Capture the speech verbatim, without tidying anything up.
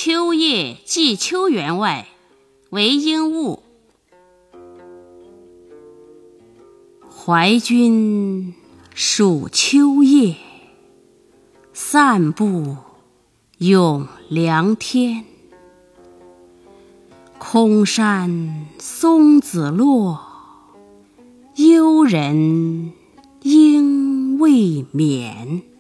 秋夜寄秋园外，为应物。怀君属秋夜，散步咏凉天。空山松子落，幽人应未眠。